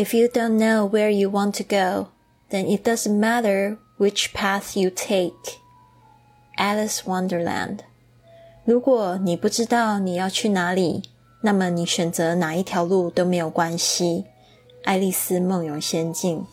If you don't know where you want to go, then it doesn't matter which path you take. Alice Wonderland. 如果你不知道你要去哪里，那么你选择哪一条路都没有关系。爱丽丝梦游仙境。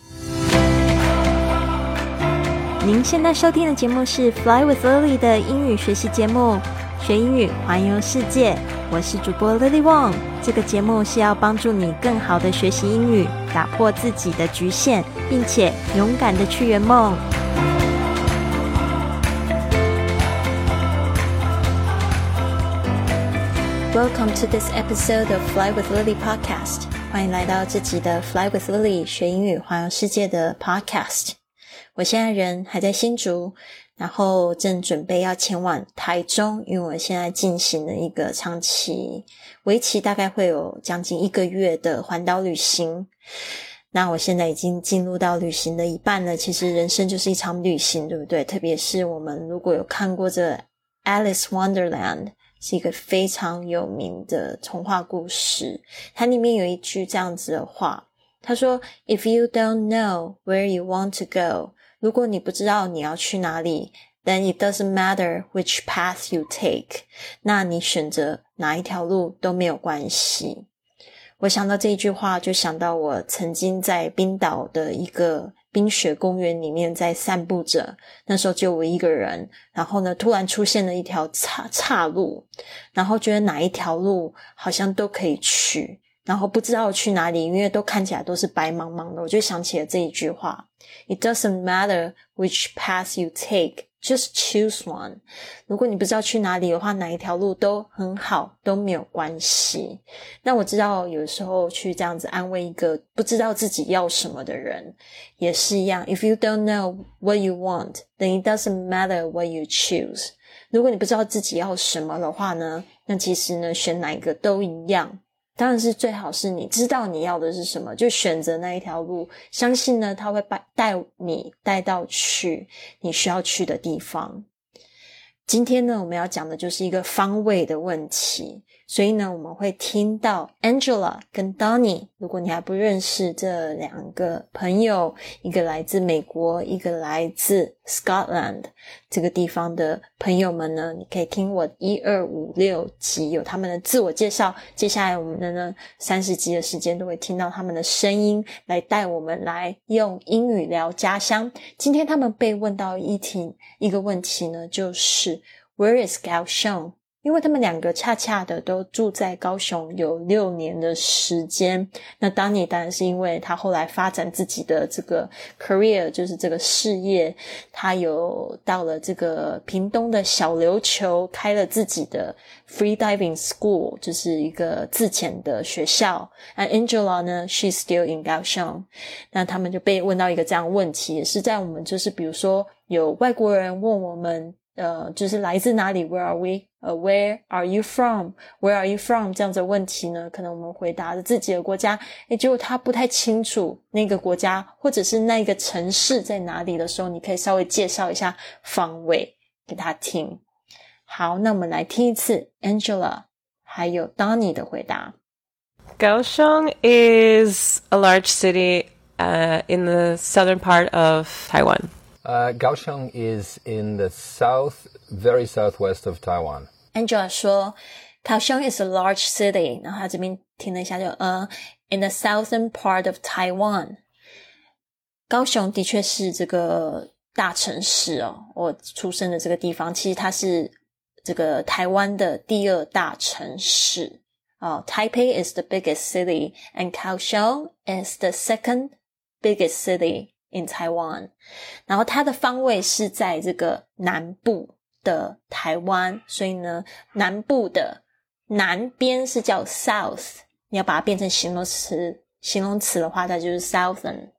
您现在收听的节目是 Fly with Lily 的英语学习节目，学英语环游世界。我是主播 Lily Wong， 这个节目是要帮助你更好的学习英语，打破自己的局限，并且勇敢的去圆梦。Welcome to this episode of Fly with Lily podcast. 欢迎来到这集的 Fly with Lily 学英语环游世界的 podcast。我现在人还在新竹，然后正准备要前往台中，因为我现在进行了一个长期为期大概会有将近1个月的环岛旅行。那我现在已经进入到旅行的一半了，其实人生就是一场旅行，对不对？特别是我们如果有看过这 Alice Wonderland， 是一个非常有名的童话故事，它里面有一句这样子的话，他说 If you don't know where you want to go，如果你不知道你要去哪里 then it doesn't matter which path you take， 那你选择哪一条路都没有关系。我想到这一句话，就想到我曾经在冰岛的一个冰雪公园里面在散步着，那时候就我一个人，然后呢突然出现了一条岔路，然后觉得哪一条路好像都可以去，然后不知道去哪里，因为都看起来都是白茫茫的，我就想起了这一句话 It doesn't matter which path you take, just choose one。 如果你不知道去哪里的话，哪一条路都很好，都没有关系。那我知道有时候去这样子安慰一个不知道自己要什么的人也是一样， If you don't know what you want, then it doesn't matter what you choose。 如果你不知道自己要什么的话呢，那其实呢选哪一个都一样。当然是最好是你知道你要的是什么，就选择那一条路，相信呢它会带你带到去你需要去的地方。今天呢我们要讲的就是一个方位的问题，所以呢我们会听到 Angela 跟 Donnie， 如果你还不认识这两个朋友，一个来自美国，一个来自 Scotland 这个地方的朋友们呢，你可以听我1、2、5、6集有他们的自我介绍，接下来我们的呢30集的时间都会听到他们的声音，来带我们来用英语聊家乡。今天他们被问到一个问题呢，就是 Where is 高雄？因为他们两个恰恰的都住在高雄有6年的时间。那Donnie当然是因为他后来发展自己的这个 career， 就是这个事业，他有到了这个屏东的小琉球开了自己的 free diving school， 就是一个自潜的学校。那 Angela 呢 she's still in 高雄。那他们就被问到一个这样的问题，也是在我们就是比如说有外国人问我们就是来自哪里 Where are we? Where are you from? Where are you from? 这样子的问题呢，可能我们回答了自己的国家，结果他不太清楚那个国家或者是那个城市在哪里的时候，你可以稍微介绍一下方位给他听。好，那我们来听一次 Angela 还有 Donnie 的回答。 Kaohsiung is a large city in the southern part of Taiwan.Kaohsiung is in the very southwest of Taiwan. Angela 说 Kaohsiung is a large city， 然后他这边听了一下就in the southern part of Taiwan。 高雄的确是这个大城市哦，我出生的这个地方其实它是这个台湾的第2大城市Taipei is the biggest city and Kaohsiung is the second biggest city in Taiwan。 然后它的方位是在这个南部的台湾，所以呢南部的南边是叫 south， 你要把它变成形容词的话，它就是 southern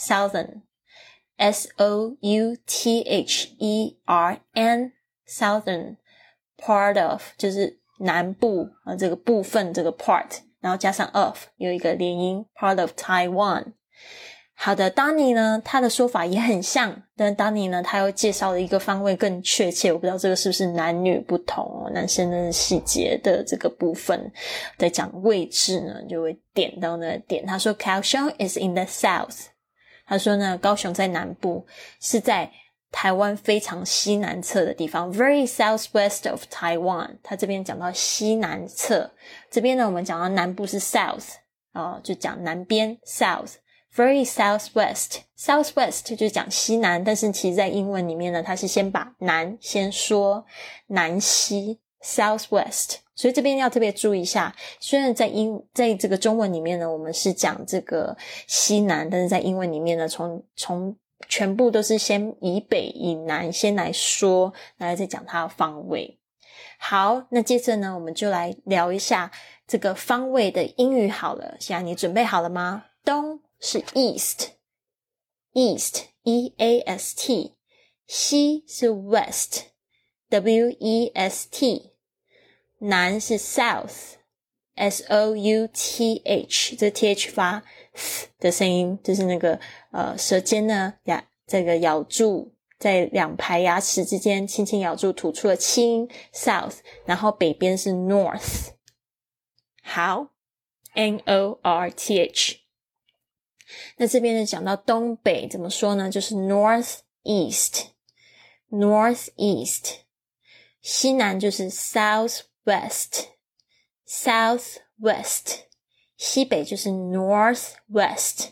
S-O-U-T-H-E-R-N southern part of 就是南部这个部分这个 part， 然后加上 of 有一个连音 part of Taiwan。 好的 Donnie 呢他的说法也很像，但 Donnie 呢他又介绍了一个方位更确切，我不知道这个是不是男女不同哦，男生的细节的这个部分在讲位置呢就会点到那个点。他说 Kaohsiung is in the south， 他说呢高雄在南部，是在台湾非常西南侧的地方 very southwest of Taiwan。 他这边讲到西南侧，这边呢我们讲到南部是 south就讲南边 south， very southwest， southwest 就是讲西南，但是其实在英文里面呢它是先把南先说南西 southwest， 所以这边要特别注意一下，虽然在这个中文里面呢我们是讲这个西南，但是在英文里面呢从全部都是先以北以南先来说，然后再讲它的方位。好，那接着呢我们就来聊一下这个方位的英语好了。现在你准备好了吗？东是 east E-A-S-T， 西是 west W-E-S-T， 南是 south S-O-U-T-H， 这 th 发的声音，就是那个舌尖呢这个咬住在两排牙齿之间轻轻咬住吐出了气音 south， 然后北边是 north。 好 N-O-R-T-H。 那这边呢讲到东北怎么说呢，就是 northeast， 西南就是 southwest， 西北就是 northwest，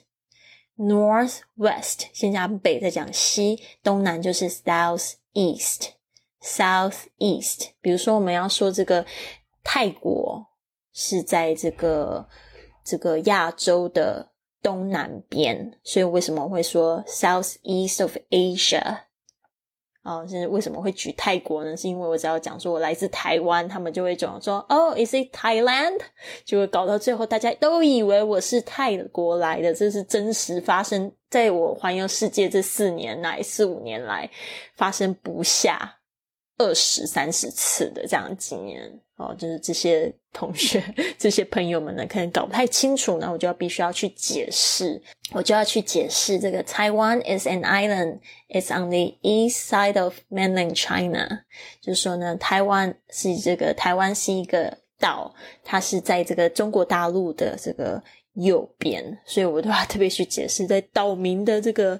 先讲北再讲西，东南就是 southeast。 比如说我们要说这个泰国是在这个亚洲的东南边，所以为什么会说 southeast of Asia？是为什么会举泰国呢？是因为我只要讲说我来自台湾，他们就会讲说is it Thailand？ 就会搞到最后大家都以为我是泰国来的，这是真实发生在我环游世界这4-5年来发生不下20-30次的这样的经验就是这些同学这些朋友们呢可能搞不太清楚，那我就必须要去解释这个 Taiwan is an island, it's on the east side of mainland China， 就是说呢台湾是一个岛，它是在这个中国大陆的这个右边，所以我都要特别去解释在岛民的这个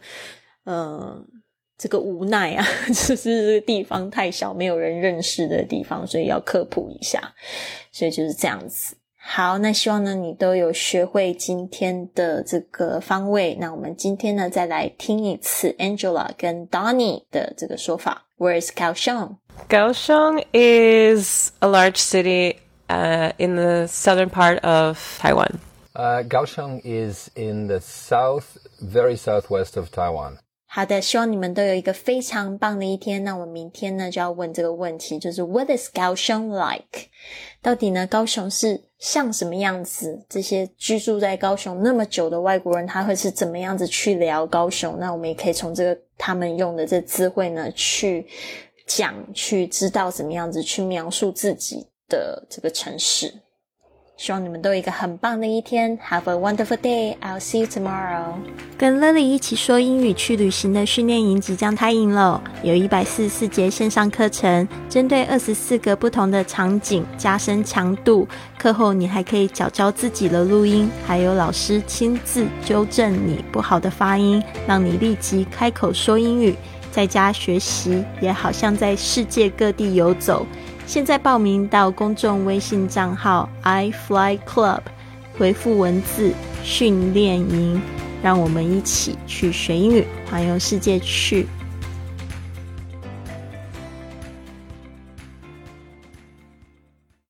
无奈啊，就是这个地方太小，没有人认识的地方，所以要科普一下，所以就是这样子。好，那希望呢你都有学会今天的这个方位。那我们今天呢再来听一次 Angela 跟 Donnie 的这个说法。 Where is Kaohsiung? Kaohsiung is a large city in the southern part of Taiwan. Kaohsiung is in the very southwest of Taiwan. 好的，希望你们都有一个非常棒的一天。那我明天呢就要问这个问题，就是 What is Kaohsiung like？ 到底呢高雄是像什么样子？这些居住在高雄那么久的外国人他会是怎么样子去聊高雄？那我们也可以从这个他们用的这词汇呢去讲，去知道怎么样子去描述自己的这个城市。希望你们都有一个很棒的一天。 Have a wonderful day. I'll see you tomorrow. 跟 Lily 一起说英语去旅行的训练营即将开营了，有144节线上课程，针对24个不同的场景加深强度。课后你还可以缴交自己的录音，还有老师亲自纠正你不好的发音，让你立即开口说英语。在家学习也好像在世界各地游走。现在报名到公众微信账号 iFlyClub， 回复文字训练营，让我们一起去学英语，环游世界去。